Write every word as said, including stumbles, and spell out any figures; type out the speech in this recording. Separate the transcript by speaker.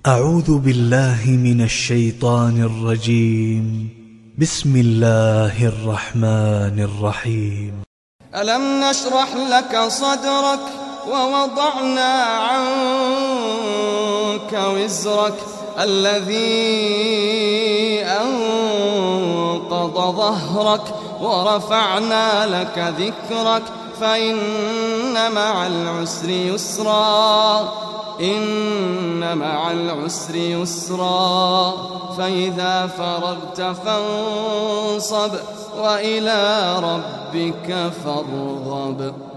Speaker 1: أعوذ بالله من الشيطان الرجيم. بسم الله الرحمن الرحيم.
Speaker 2: ألم نشرح لك صدرك ووضعنا عنك وزرك الذي أنقض ظهرك ورفعنا لك ذكرك فإن مع العسر يسرا إن مع العسر يسرا فإذا فرغت فانصب وإلى ربك فارغب.